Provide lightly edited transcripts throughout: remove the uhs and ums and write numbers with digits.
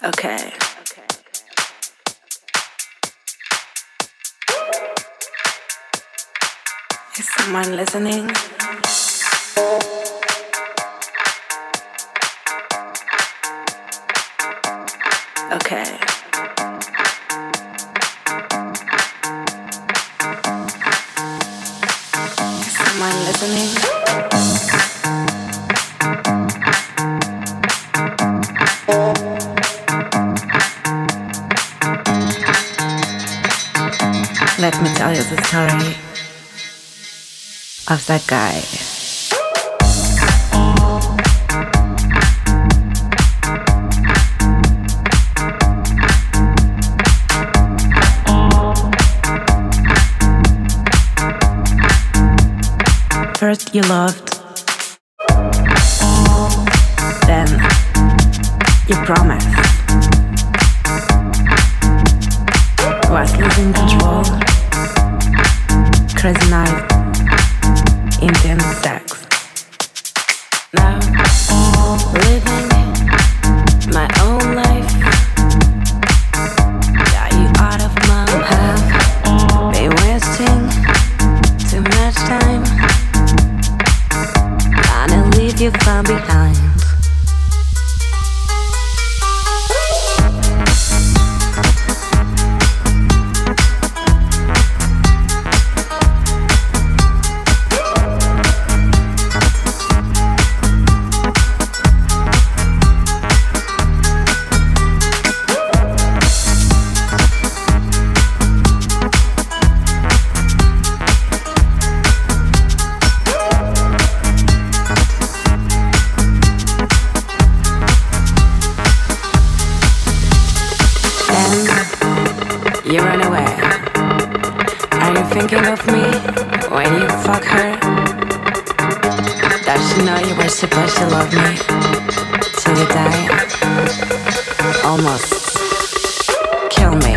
Okay. Is someone listening? Okay. Is someone listening? Let me tell you the story of that guy. First you loved, then you promised. Was losing control, crazy night, intense sex. Now, living my own life. Got you out of my path. Been wasting too much time. Gonna leave you far behind. You run away. Are you thinking of me when you fuck her? Does she know you were supposed to love me till you die? Almost kill me.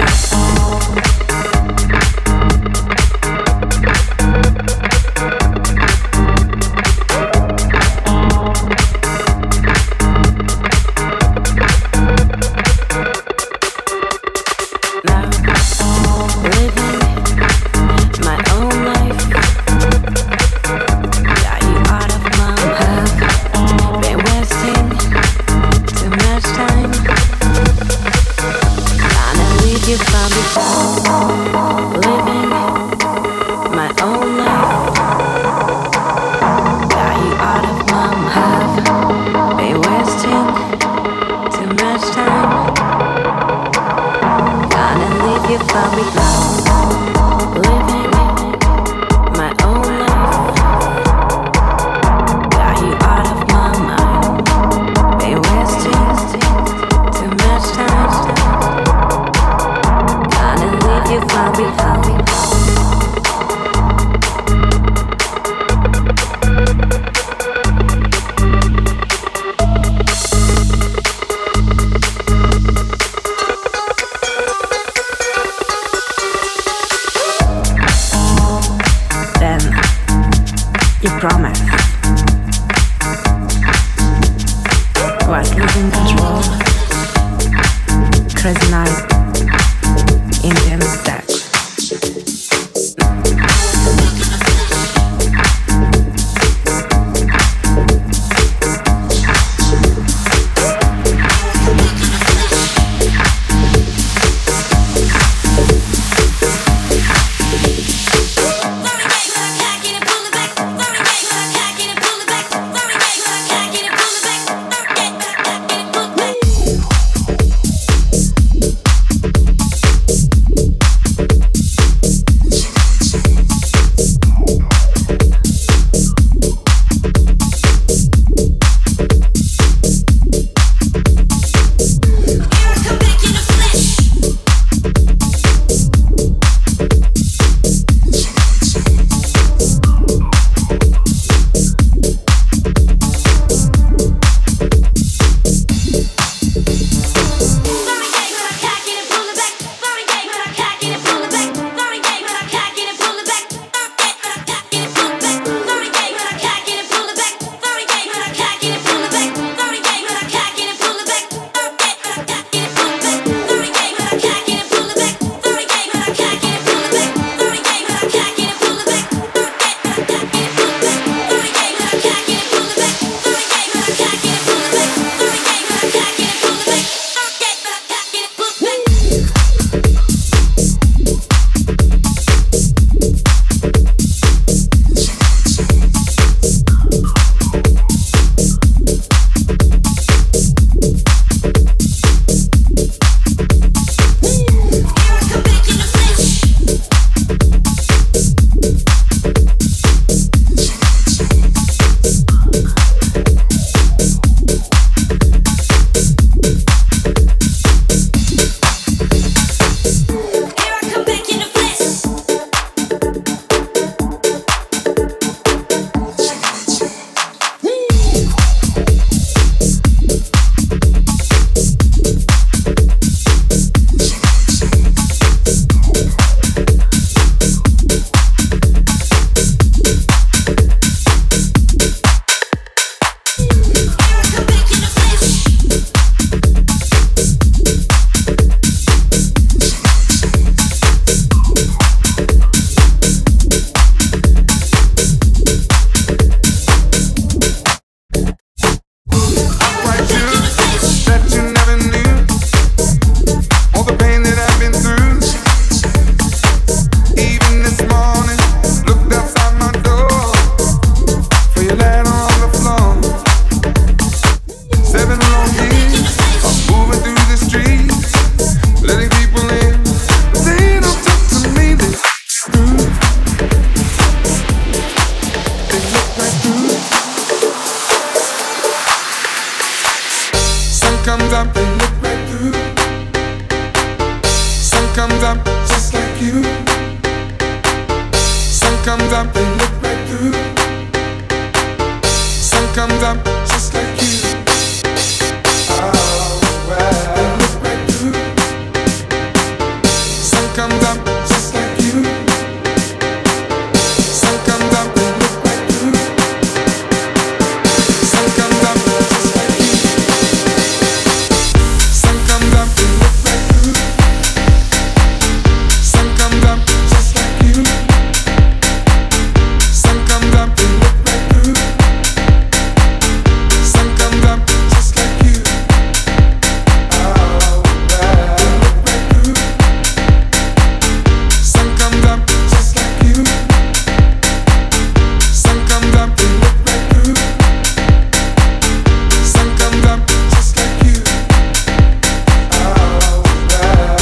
Promise. Was losing control, crazy night, intense sex. comes up, they look right through. Sun comes up just like you. Oh, well, they look right through. Sun comes up just like you. Sun comes up, they look right through. Sun comes up just like you. Sun comes up, they look right through. Sun comes up just like you. Sun comes up, they look right through. Sun comes up just like you. Oh, well, they look right through. Sun comes up just like you. Sun comes up, they look right through. Sun comes up just like you. Oh, well.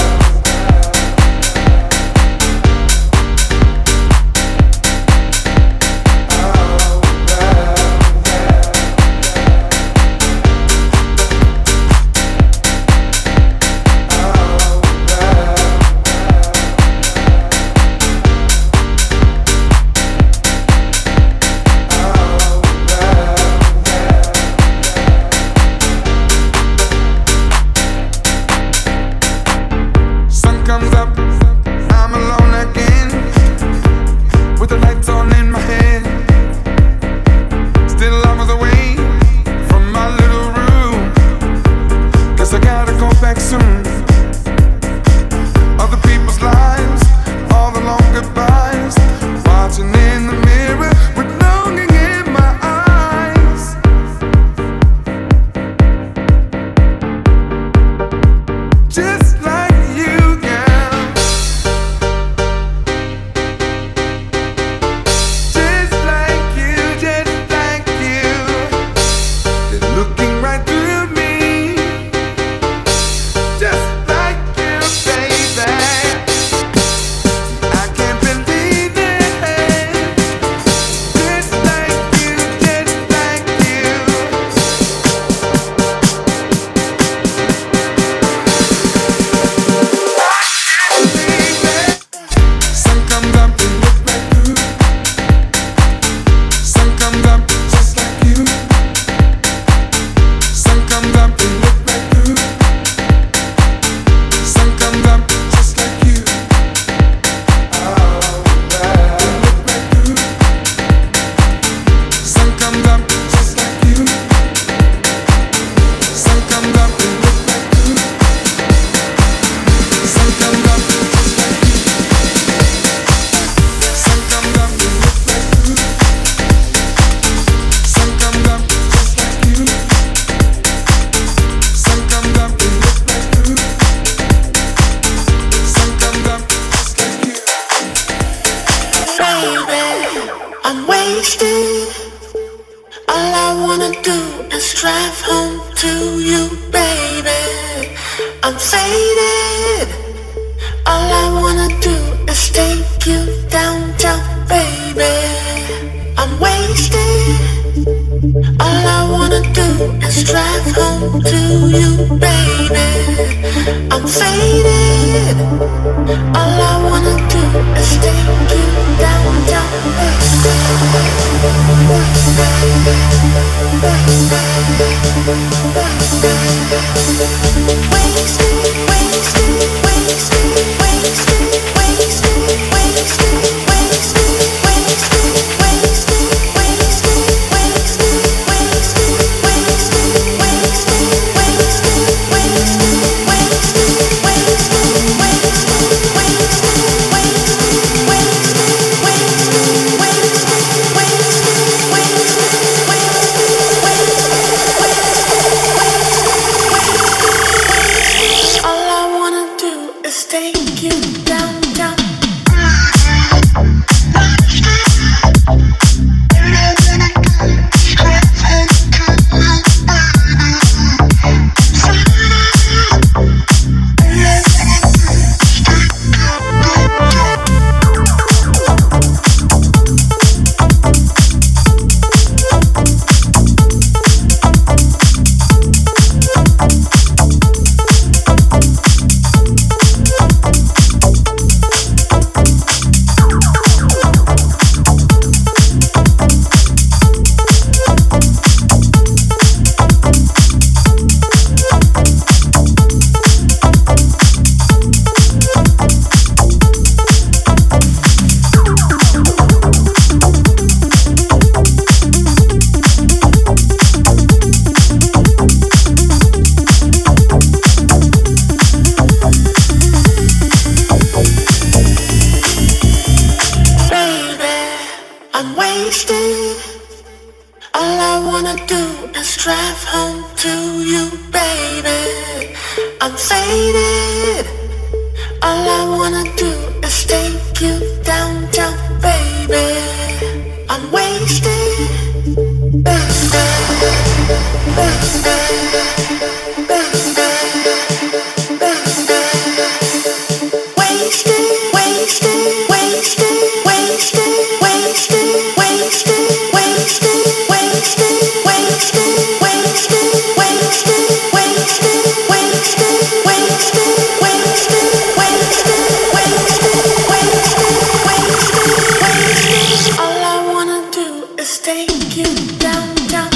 Sun comes up, I'm alone again, with the lights on in my head. Still hours away from my little room. Guess I gotta go back soon. Other people's lives, all the long goodbyes, watching in the mirror with longing in my eyes. Just like you, girl. Just like you, just like you. They're looking right through me. Just like you, baby. I can't believe it. Just like you, just like you. Sun comes up, they look right through. Sun comes up just like you. Sun comes up, they look right through. Sun comes up just like you. Oh, well, they look right through. Sun comes up just like you. Sun comes up, they look right through. Sun comes up just like you. Sun comes up, they look right through. Sun comes up just like you. Sun comes up, they look right through. Sun comes up just like you. Baby, I'm wasted. All I wanna do is drive home to you, baby. I'm faded. All I wanna do is take you downtown, baby. I'm wasted. All I wanna do is drive home to you, baby. I'm faded. All I wanna do is take you downtown, wanna do is drive home to you, baby. I'm faded. All I wanna do is take you downtown, baby. I'm wasted, baby, wasted, wasted, wasted, wasted, wasted, wasted, wasted, wasted, wasted, wasted, wasted, wasted, wasted, wasted. All I wanna do is take you downtown.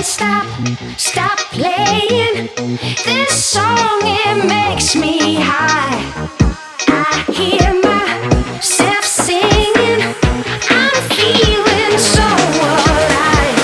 Stop playing this song, it makes me high. I hear myself singing, I'm feeling so alive.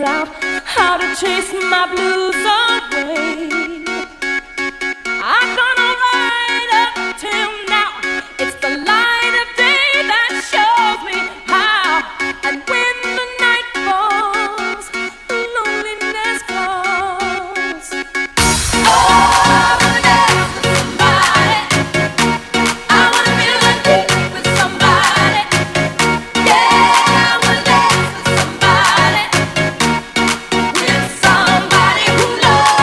out how to chase my blues away. I've gone all right up till now. It's the light of day that shows me how. And when the night falls, loneliness calls. Oh, I wanna dance with somebody. I wanna feel the heat with somebody. Yeah, I wanna dance with somebody who loves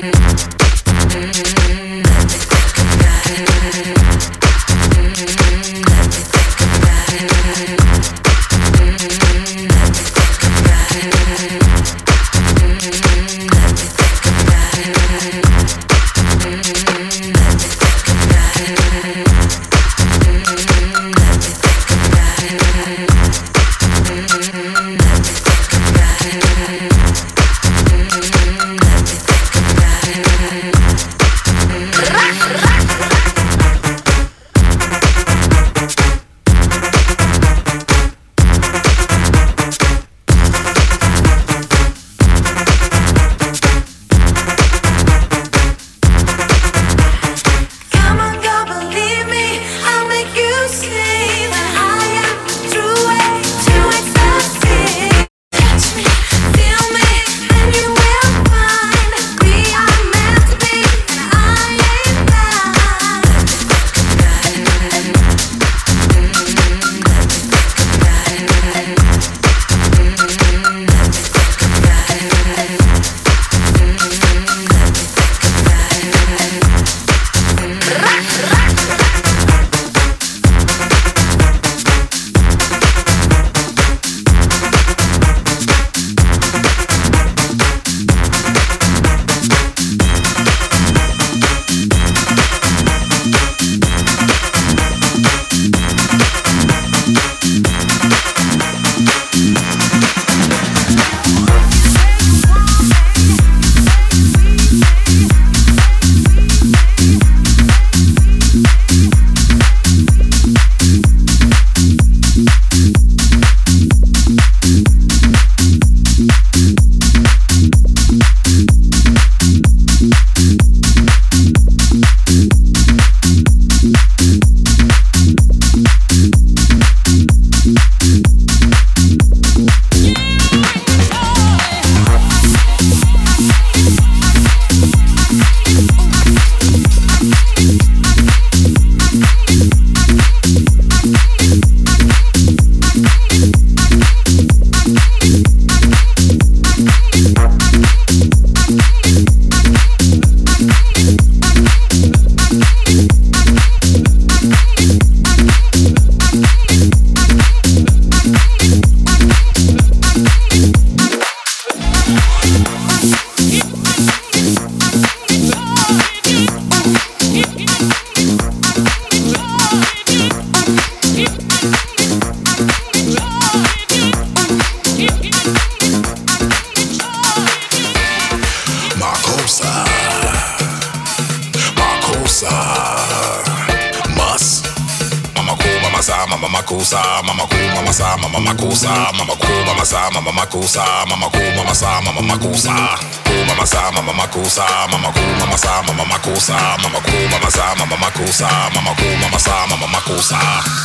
makusa, mama cool, mama sa, mama makusa, mama cool, mama sa, mama makusa, mama cool, mama sa, mama makusa, cool, mama sa, mama makusa, mama cool, mama sa, mama makusa, mama cool, mama sa, mama makusa, mama cool, mama sa, mama makusa.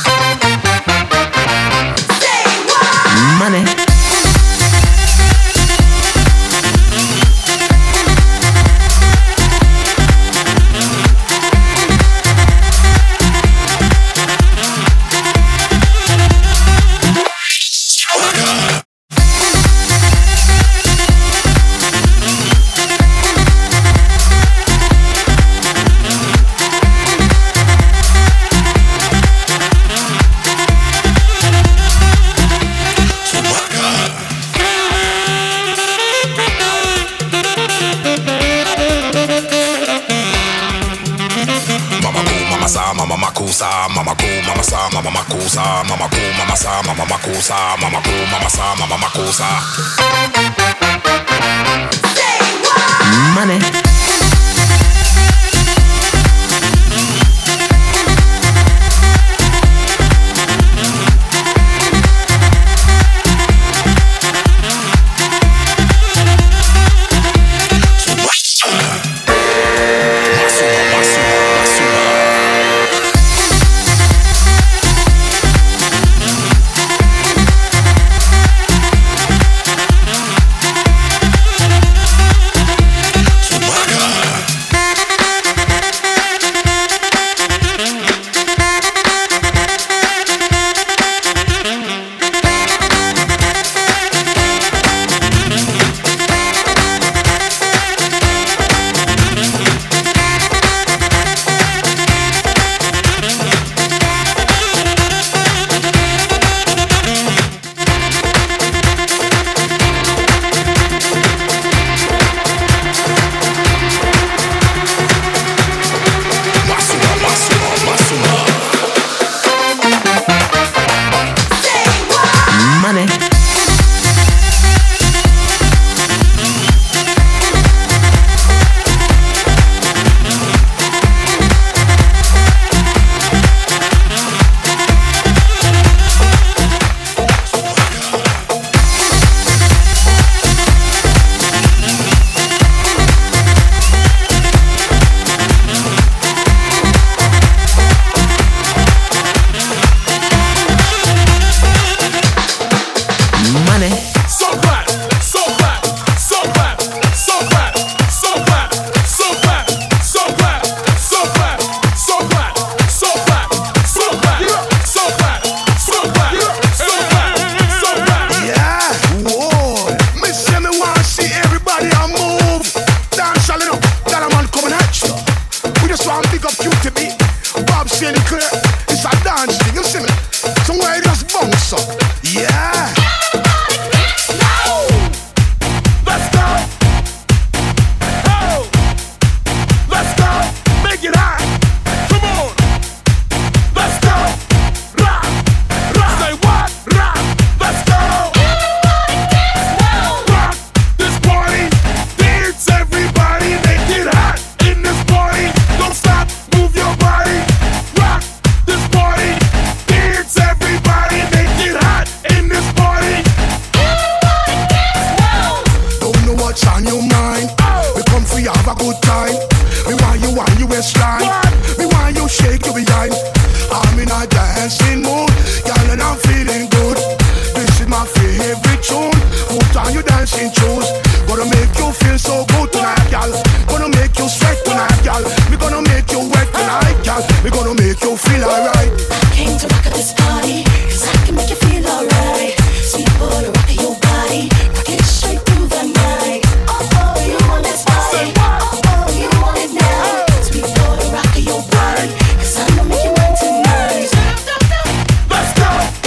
Say what? Money. Mama makusa, mama cool, mama sa, mama makusa, mama cool, mama sa, mama makusa, mama cool, mama sa, mama makusa. Say what? Money. QTB, Bob Sinclair. It's a dance thing, you see me? Somewhere it just bounce up. Yeah. Let's go. Oh, let's go. Make it hot. Come on. Let's go. Rock, rock. Say what? Rock. Let's go. Rock this party. Dance, everybody. Make it hot in this party. Don't stop. Move your body. Rock this party. Dance, everybody. Make it hot in this party. Don't know what's on your mind. We come for you, have a good time. We want you waistline. We want you shake your behind. I'm in a dancing mood, girl, and I'm feeling good. This is my favorite tune. Put on your dancing shoes. Gonna make you feel so good tonight, girl. Gonna make you sweat tonight, girl. We gonna make you wet tonight, girl. We gonna make you feel alright. Came to rock at this party, 'cause I can make you feel alright. Sweet boy, rock your body, rock it straight through the night. Oh, you want this body? Oh, you want it now? Sweet boy, rock your body, 'cause I'm gonna make you mine tonight. Let's go.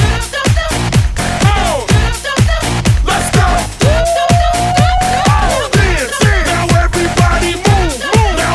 Oh, let's go. Oh, dance. Now everybody move, move.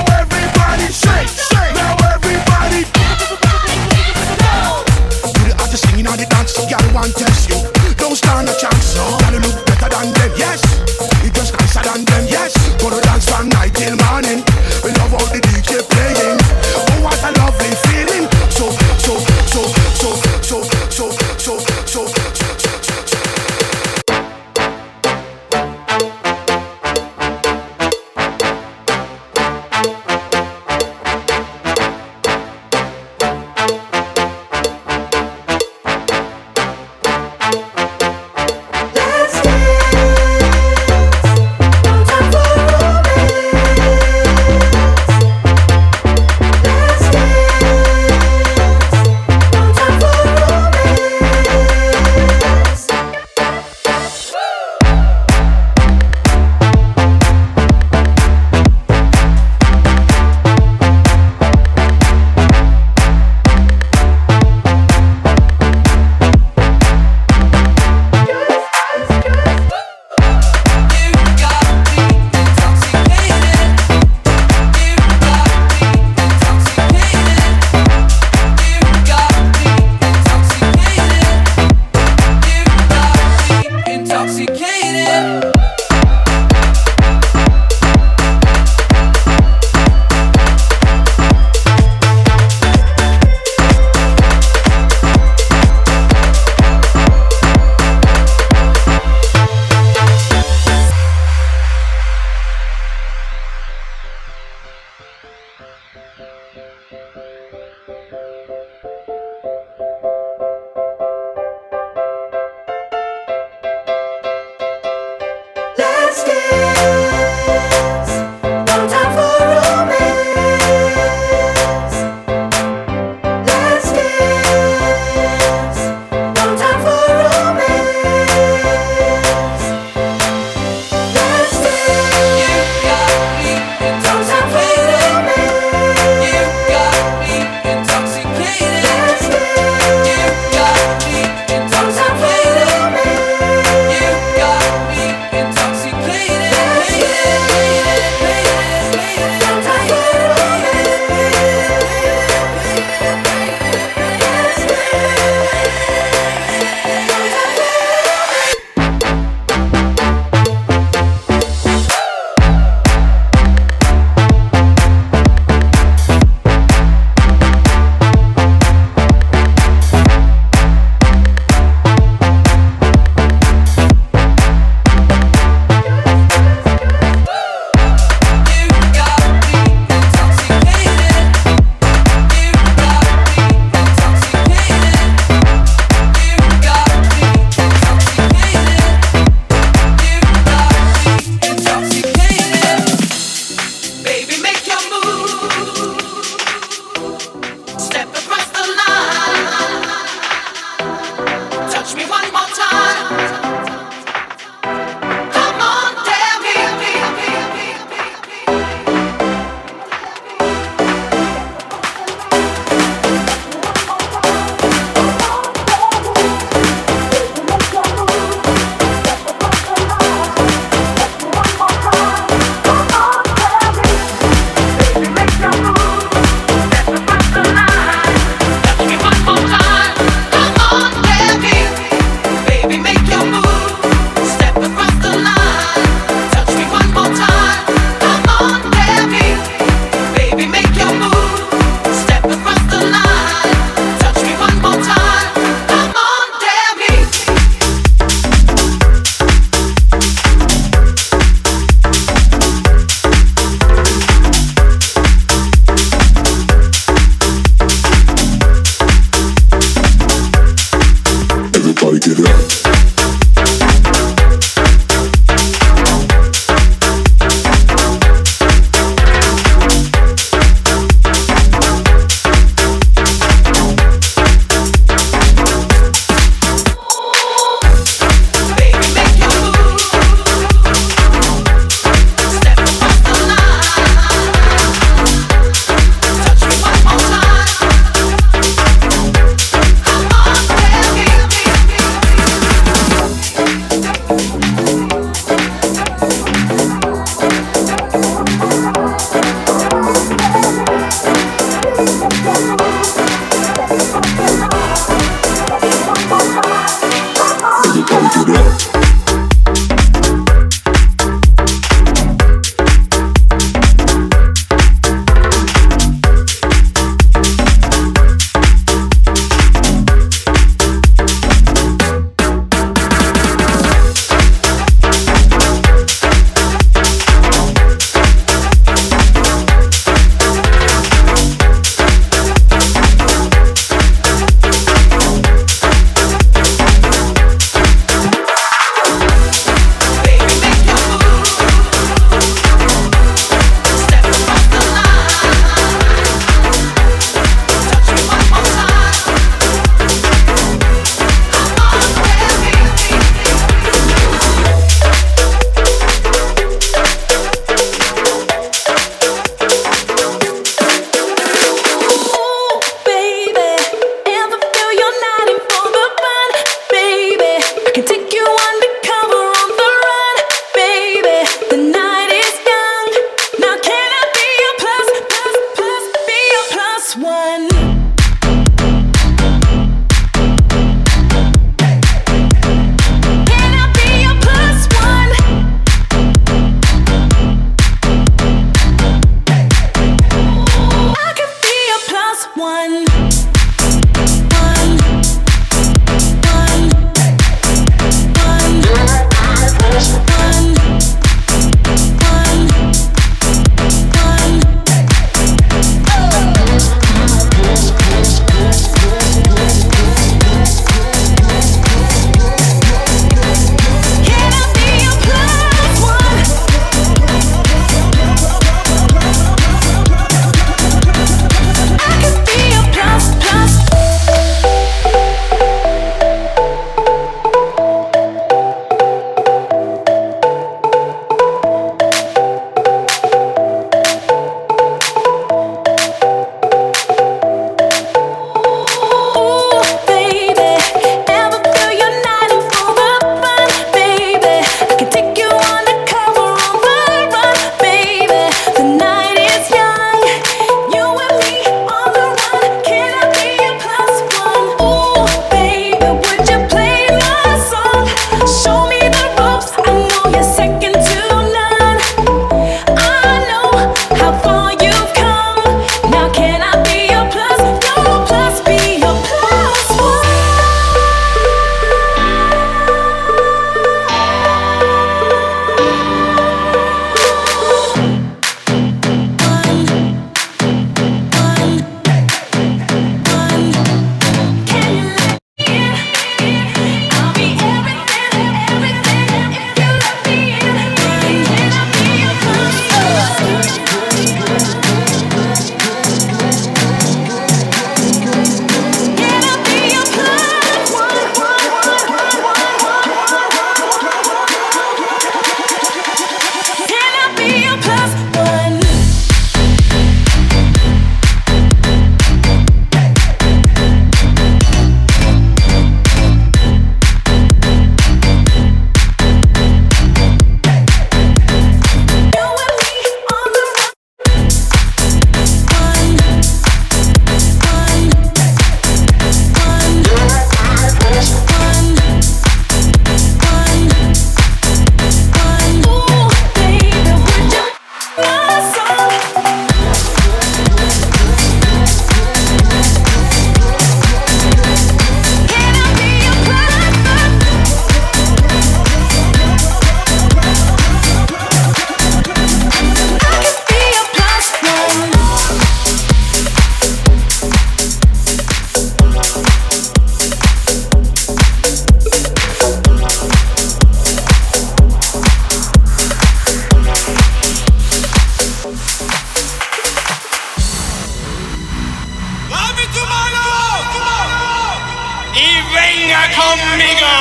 conmigo.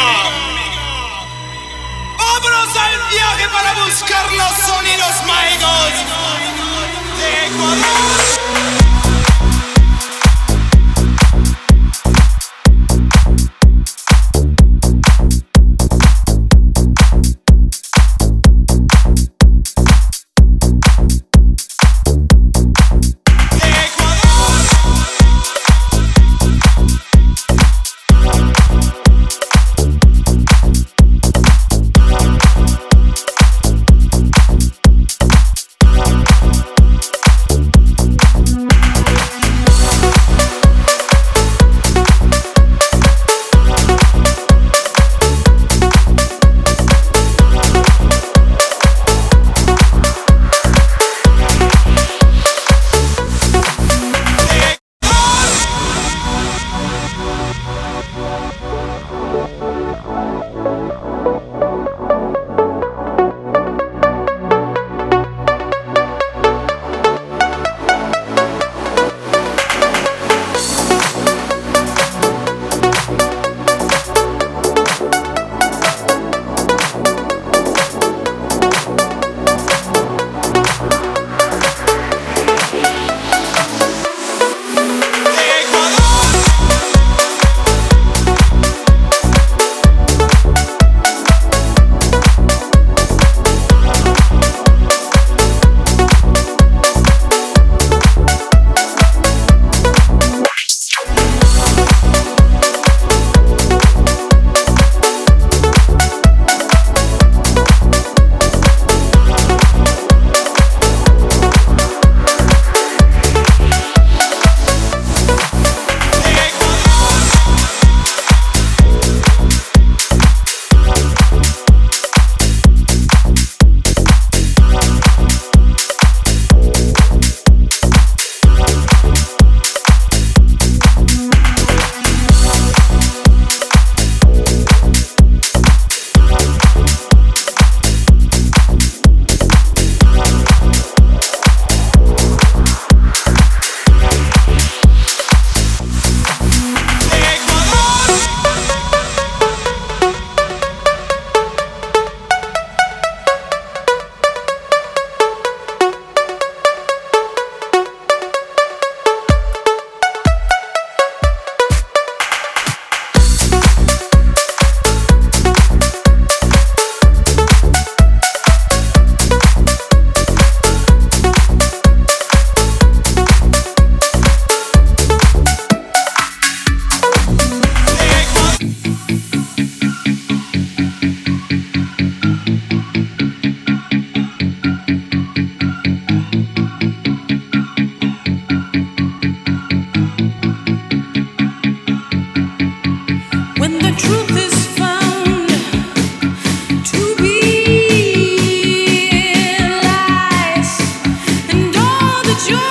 Vámonos al viaje para buscar los sonidos mágicos de Ecuador. Joy